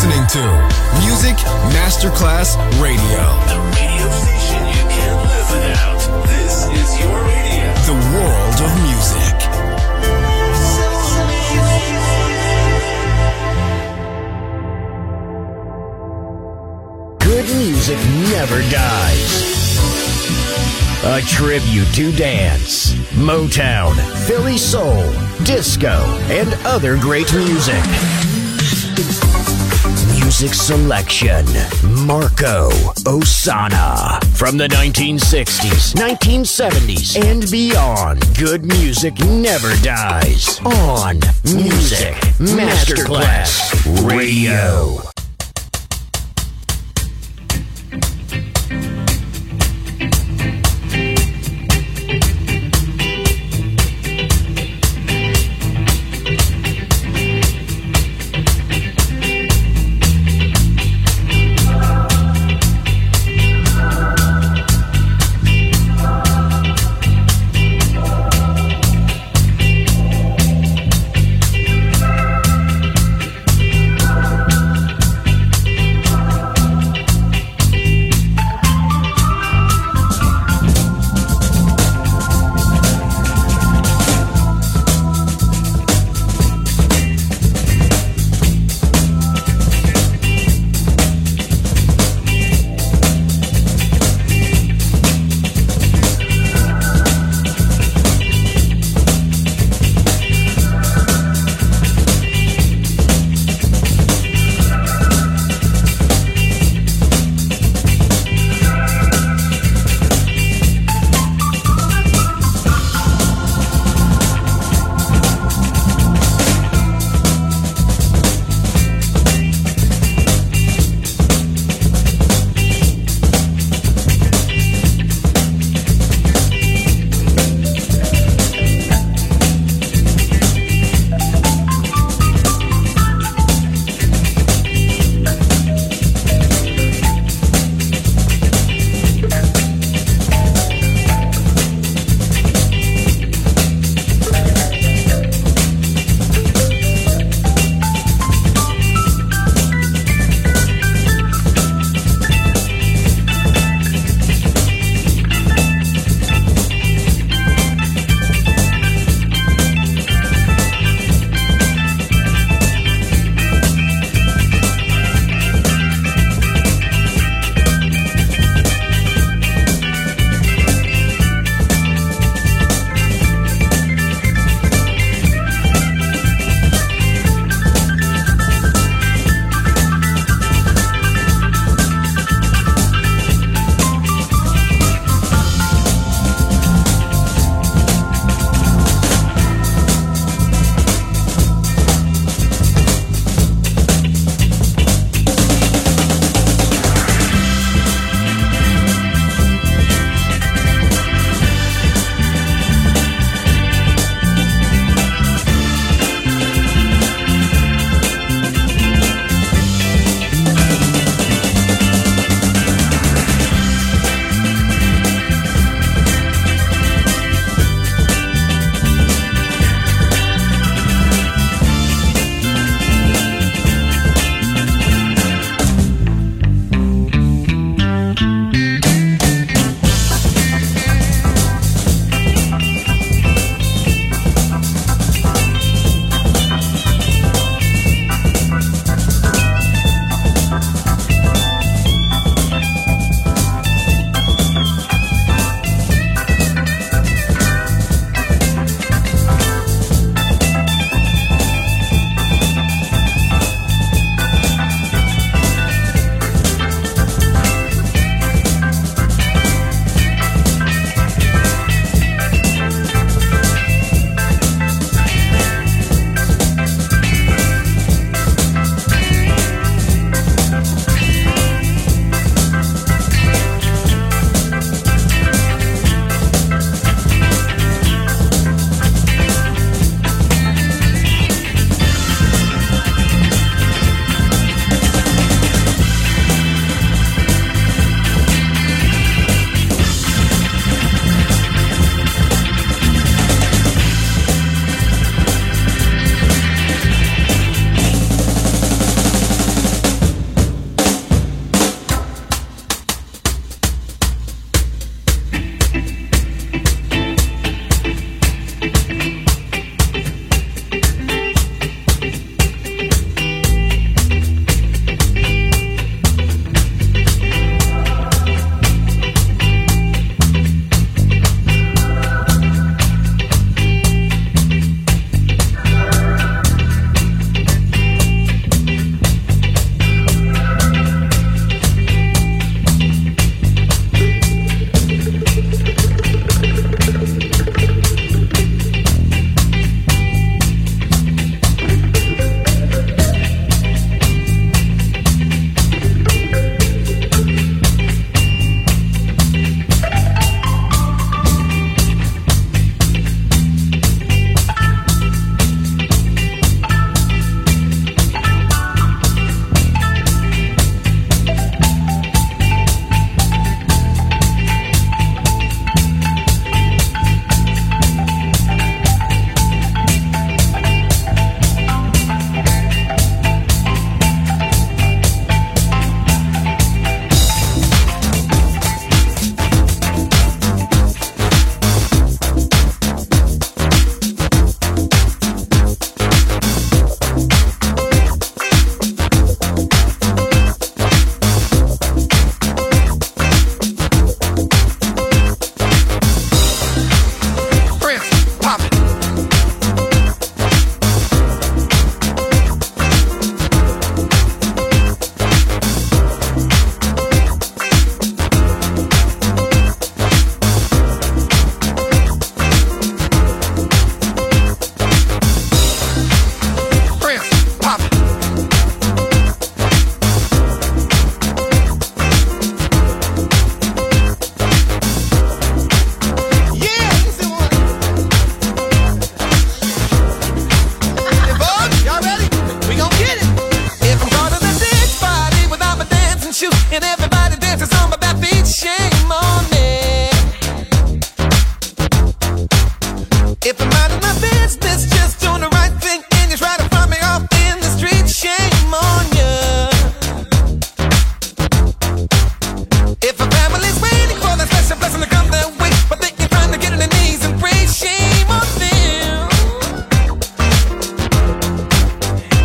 listening to Music Masterclass Radio. The radio station you can't live without. This is your radio. The world of music. Good music never dies. A tribute to dance, Motown, Philly soul, disco, and other great music. Music selection, Marco Ossanna. From the 1960s, 1970s, and beyond, good music never dies. On Music Masterclass Radio.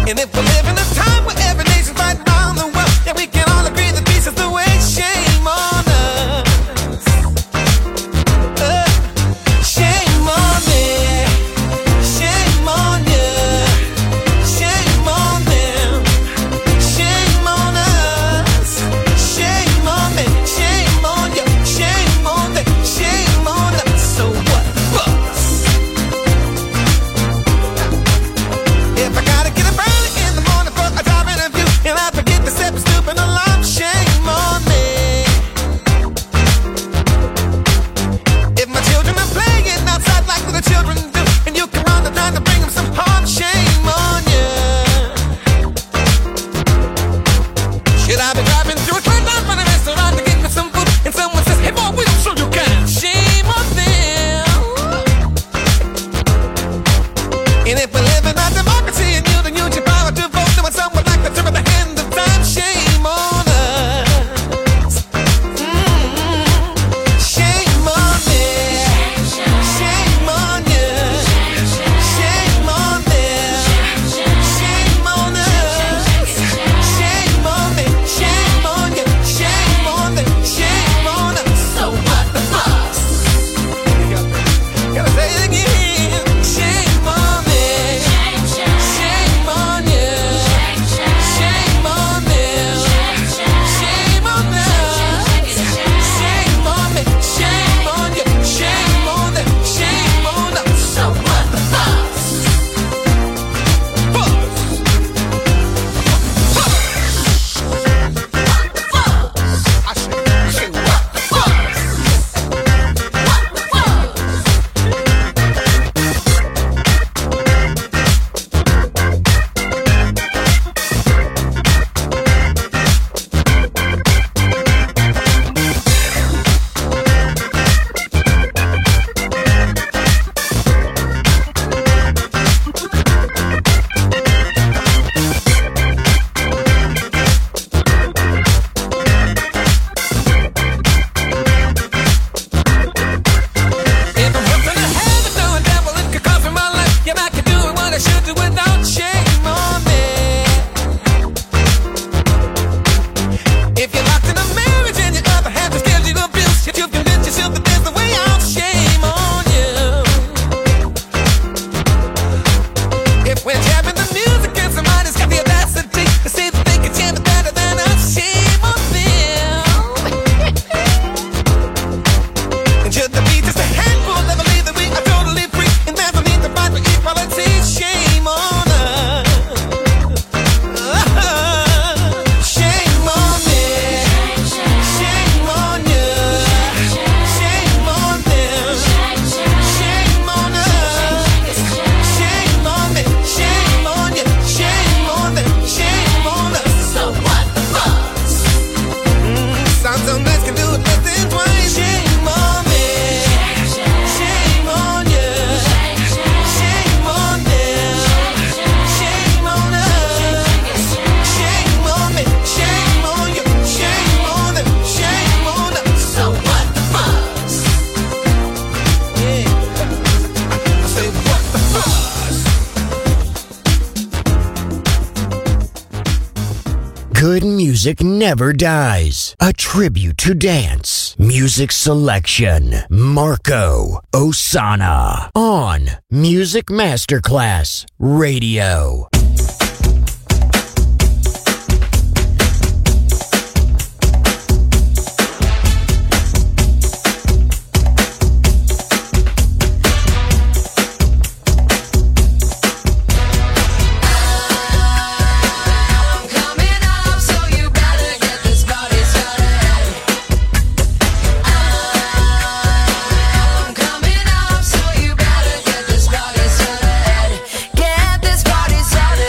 Good music never dies. A tribute to dance. Music selection. Marco Ossanna. On Music Masterclass Radio. Get this party started.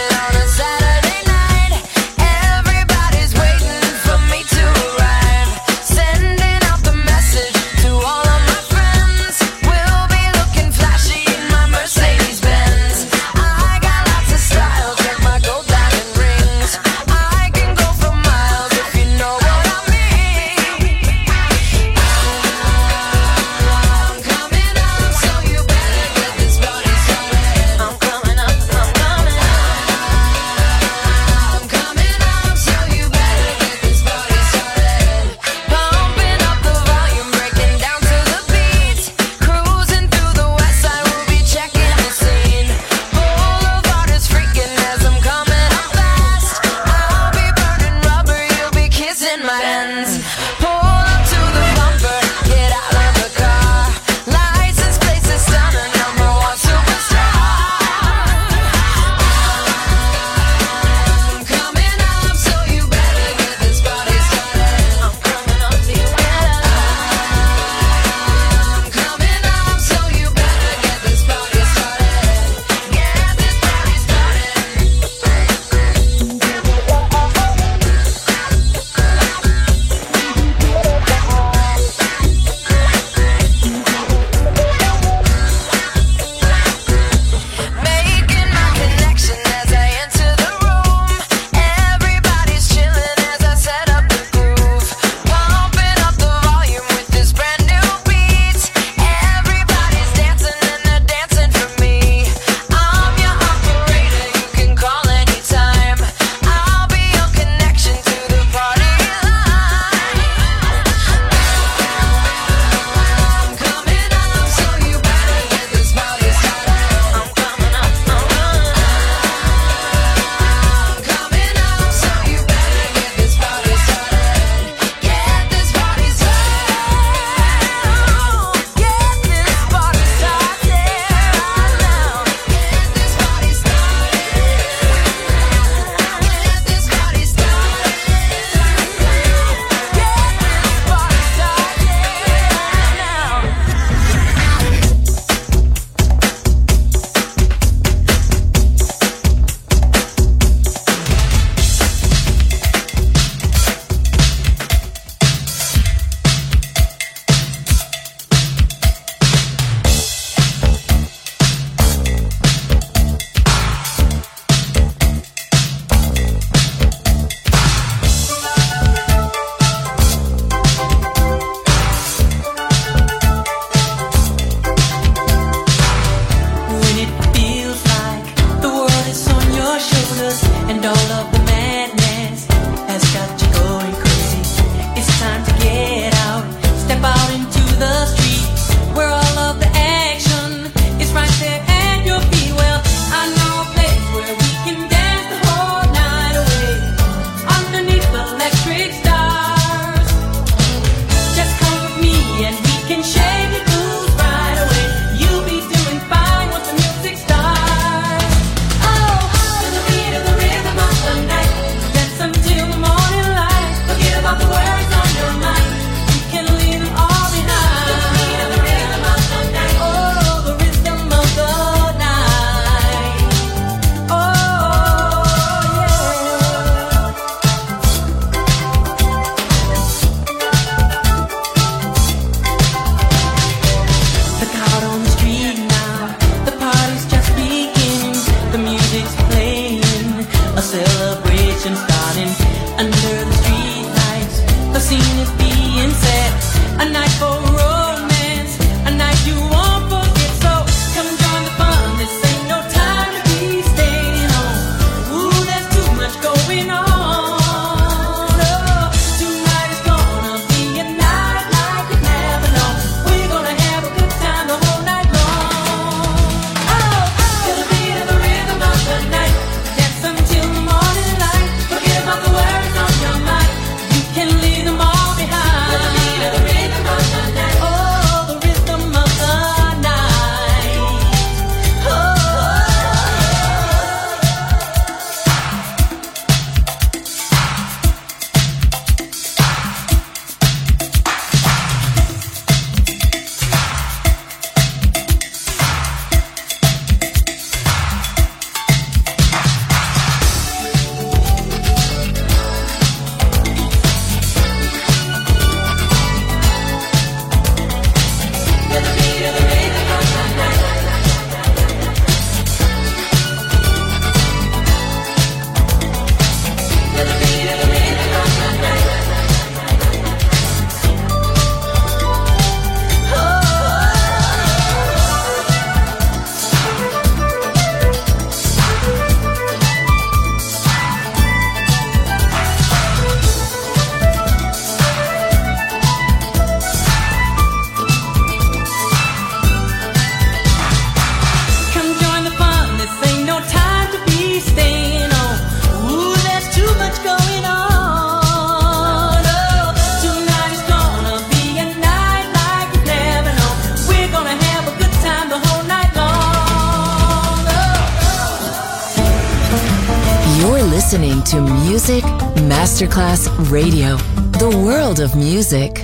listening to Music Masterclass Radio, the world of music.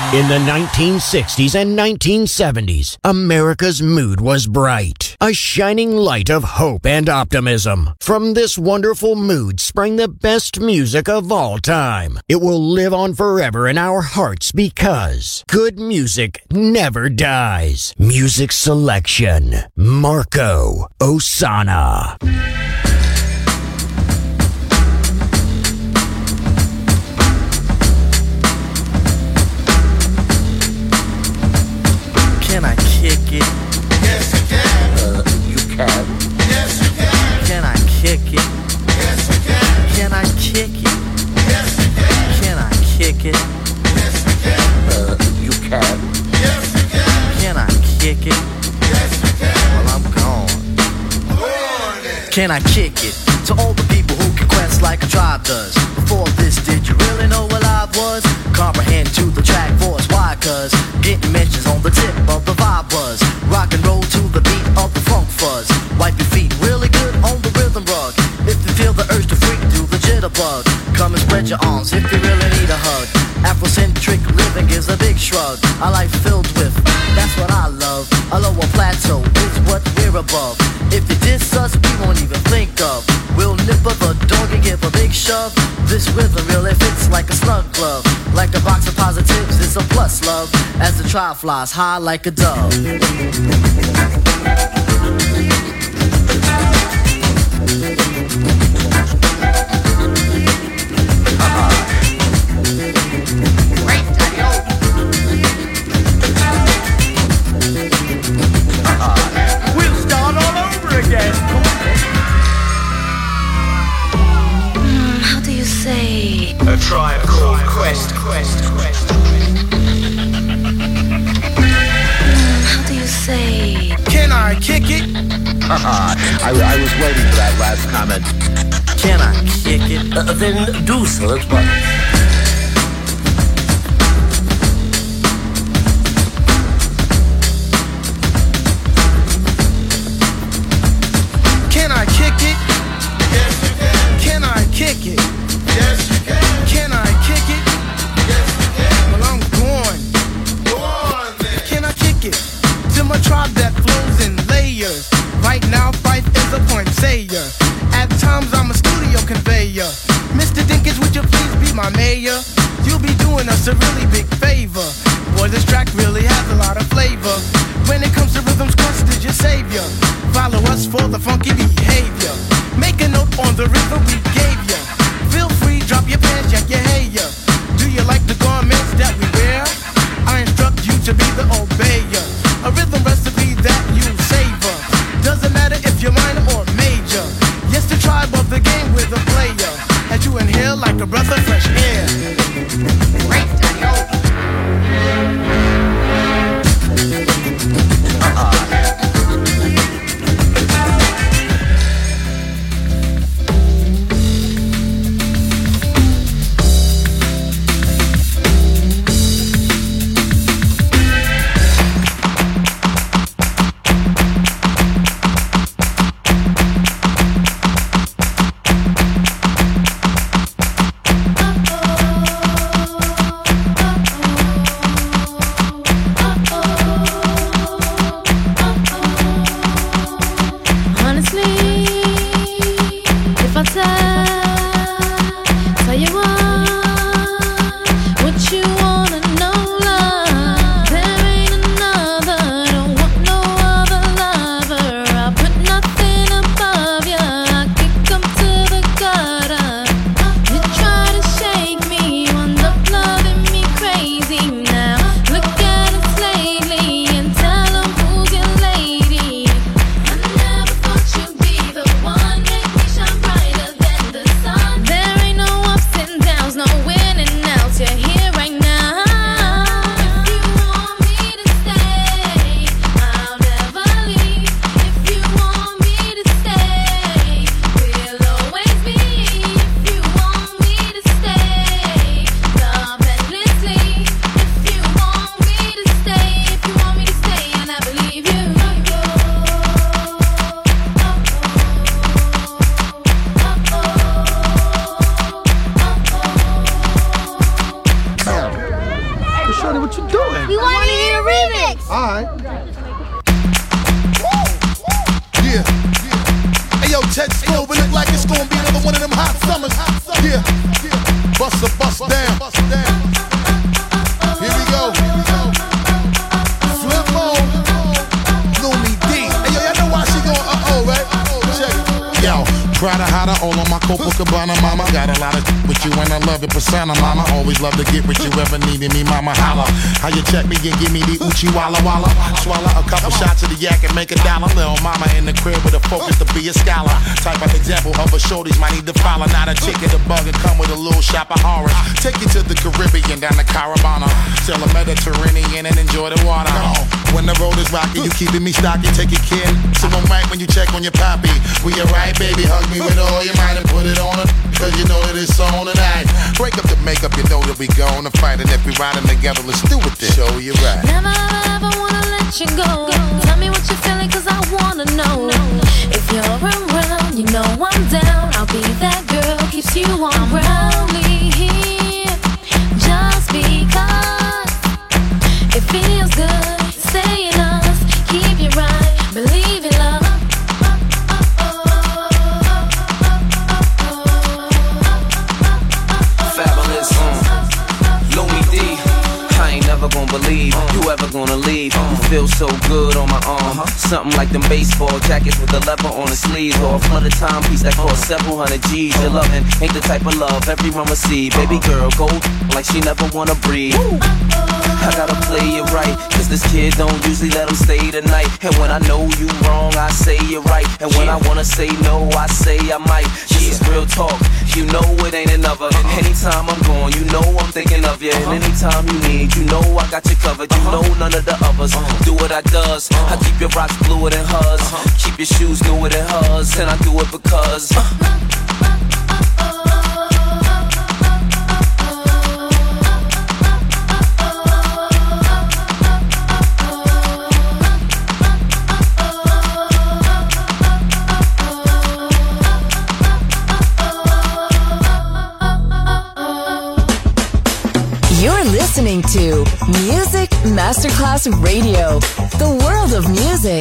In the 1960s and 1970s, America's mood was bright, a shining light of hope and optimism. From this wonderful mood sprang the best music of all time. It will live on forever in our hearts because good music never dies. Music selection, Marco Ossanna. Can I kick it? Yes, you can. You can. Yes, you can. Can I kick it? Yes, you can. Can I kick it? Yes, you can. Can I kick it? Yes, you can. You can. Yes, you can. Can I kick it? Yes, you can. Well, I'm gone. Go on then. Can I kick it? To all the people who can quest like a tribe does. Before this, did you really know what I was? Comprehend to the track force. Why? Cause getting mentions on the tip of the vibe was. Rock and roll to the beat of the funk fuzz. Wipe your feet really good on the rhythm rug. If you feel the urge to freak, do the jitterbug. Come and spread your arms if you really need a hug. Afrocentric living is a big shrug. A life filled with, that's what I love. A lower plateau is what we're above. If you diss us, we won't even think of. We'll nip up the dog and give a big shove. This rhythm really fits like a snug glove. Like a box of positives, it's a plus love. As the trial flies high like a dove. We'll start all over again. How do you say? A Tribe Called Quest. How do you say? Can I kick it? I was waiting for that last comment. Can I kick it? Then do so at once. Can I kick it? Yes, you can. Can I kick it? Yes, you can. Can I kick it? Yes, you can. Well, I'm going. Go on then. Can I kick it? To my tribe that flows in layers. Right now, Fife is a point sayer. At times, I'm a studio conveyor. Mr. Dinkins, would you please be my mayor? You'll be doing us a really big favor. Boy, this track really has a lot of flavor. When it comes to rhythms, Quest is your savior. Follow us for the funky behavior. Make a note on the rhythm we gave ya. Feel free, drop your pants, yak your hair. Do you like the garments that we wear? I instruct you to be the obeyer. A rhythm recipe that you savor. Doesn't matter if you're minor or major. Yes, the tribe of the game with a player. As you inhale like a breath of fresh air. Right, Alright. Yeah. Hey yo, Ted Slover look like it's gonna be another one of them hot summers. Yeah. Bust a bust down. Here we go. Flip mode. Lumi D. Hey yo, y'all know why she going right? Check it. Yo. Prada Hada, all on my Copacabana, mama. Got a lot of with you and I love it, persona, mama. Always love to get with you, ever needed me, mama. Holla. How you check me and give me the Uchi Walla Walla? Swallow a couple shots of the yak and make a dollar. Little mama in the crib with a focus to be a scholar. Type of example of a shorties might need to follow. Not a chick in the bug and come with a little shop of horrors. Take you to the Caribbean, down the Caravana. Sail the Mediterranean and enjoy the water. When the road is rocky, you keeping me stocky, take your kid. So I'm right when you check on your poppy. We alright, baby, hug me with all your might and put it on her, cause you know that it's on tonight. Break up the makeup, you know that we going to fight. And if we riding together, let's do it then. Show you right. Never ever wanna let you go. Tell me what you're feeling, cause I wanna know. If you're around, you know I'm down. I'll be that girl, keeps you on ground. Only here, just because it feels good. Stay in us, keep you right, believe in love. Fabulous, Lumi D. I ain't never gonna believe you ever gonna leave. You feel so good on my arm. Something like them baseball jackets with the leather on the sleeves, or a flooded timepiece that costs several hundred G's. Your loving ain't the type of love everyone will see. Baby girl, go like she never wanna breathe. I gotta play it right, cause this kid don't usually let him stay the night. And when I know you wrong, I say you're right. And when I wanna say no, I say I might. She's real talk, you know it ain't another. Anytime I'm gone, you know I'm thinking of you. And anytime you need, you know I got you covered. You know none of the others do what I does. I keep your rocks bluer than hers, keep your shoes newer than hers. And I do it because You're listening to Music Masterclass Radio, the world of music.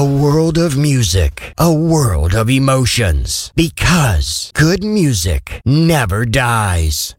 A world of music, a world of emotions. Because good music never dies.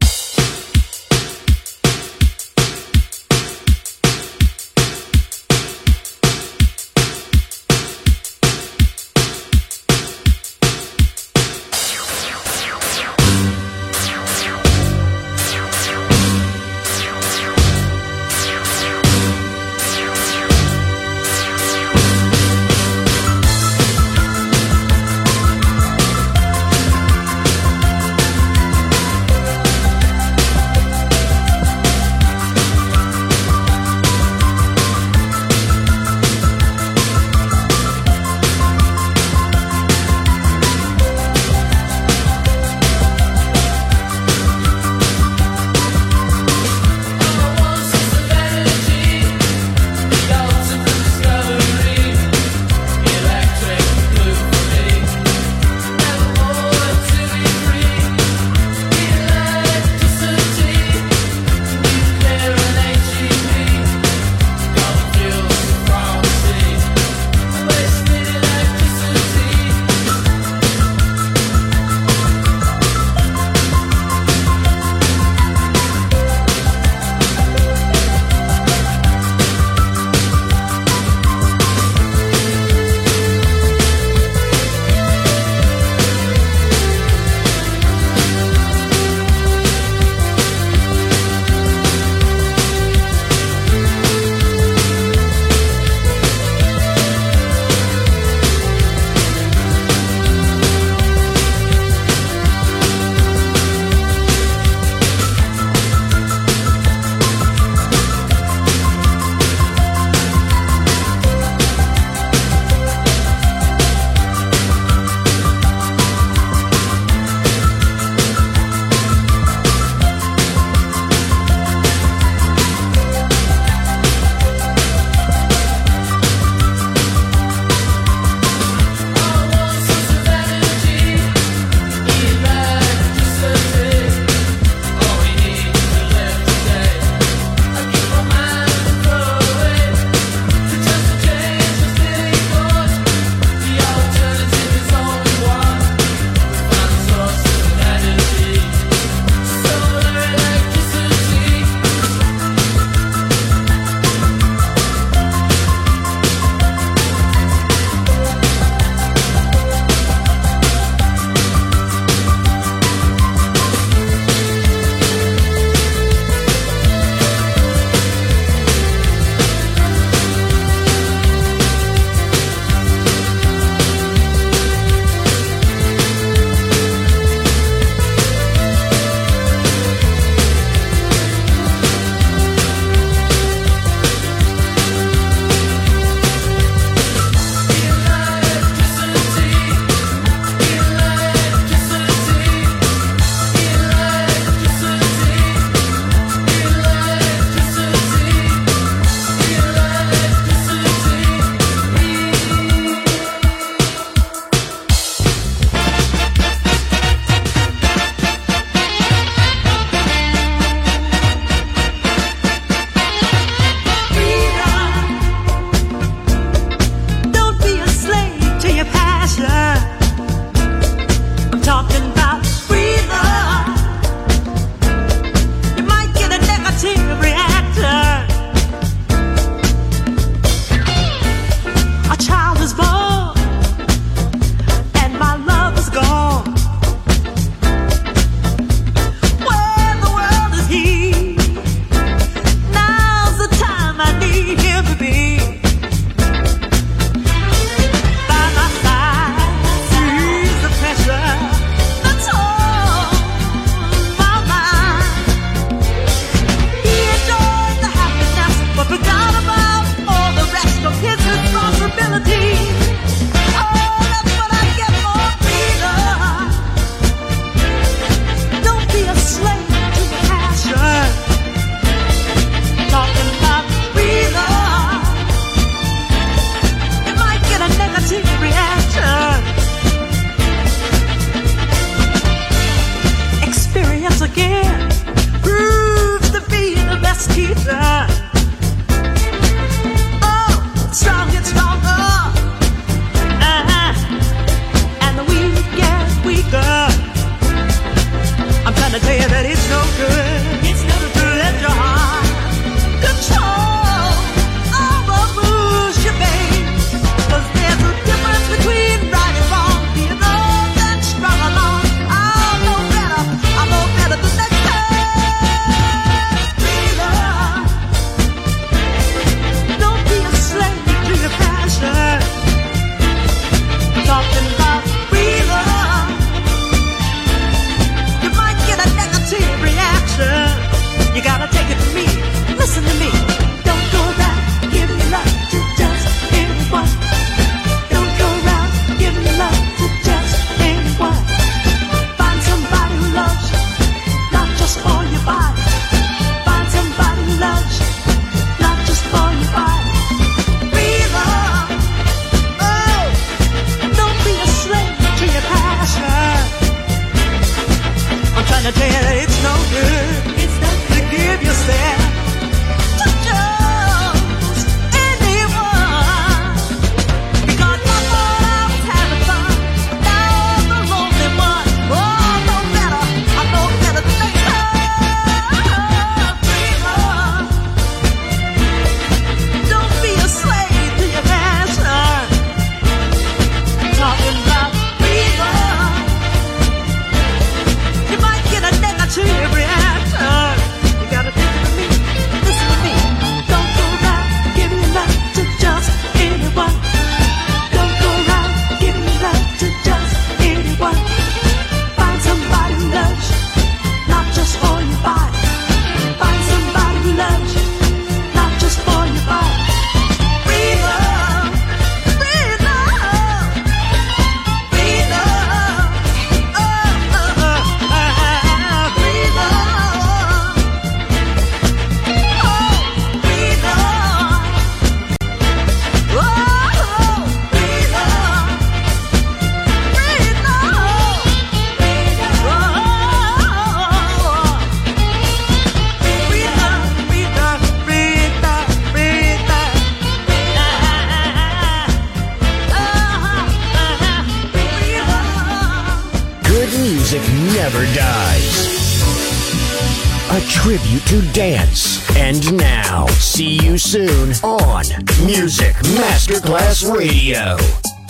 music never dies. A tribute to dance. And now, see you soon on Music Masterclass Radio.